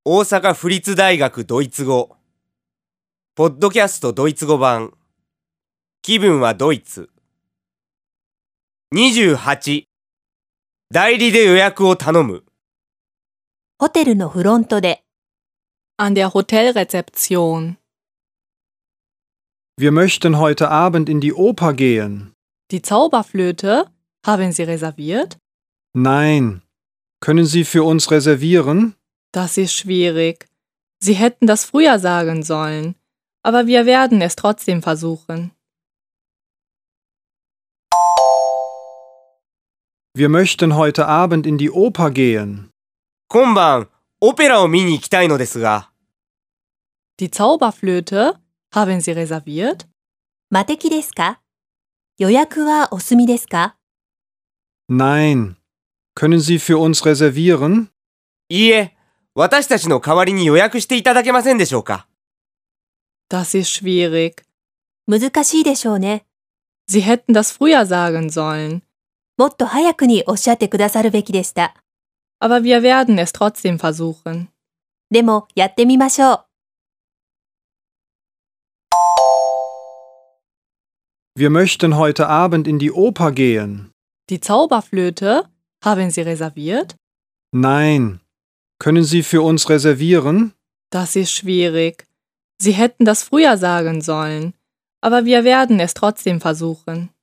大阪府立大学ドイツ語ポッドキャストドイツ語版気分はドイツ28代理で予約を頼むホテルのフロントで An der Hotelrezeption. Wir möchten heute Abend in die Oper gehen. Die Zauberflöte? Haben Sie reserviert? Nein. Können Sie für uns reservieren? Das ist schwierig. Sie hätten das früher sagen sollen. Aber wir werden es trotzdem versuchen. Wir möchten heute Abend in die Oper gehen. 今晩オペラを見に行きたいのですが Die Zauberflöte? Haben Sie reserviert? マテキですか？予約はお済みですか？ Nein. Können Sie für uns reservieren? いいえ、私たちの代わりに予約していただけませんでしょうか Das ist schwierig. 難しいでしょうね。 Sie hätten das früher sagen sollen. もっと早くにおっしゃってくださるべきでした。 Aber wir werden es trotzdem versuchen. でもやってみましょう。 Wir möchten heute Abend in die Oper gehen. Die Zauberflöte? Haben Sie reserviert? Nein. Können Sie für uns reservieren? Das ist schwierig. Sie hätten das früher sagen sollen. Aber wir werden es trotzdem versuchen.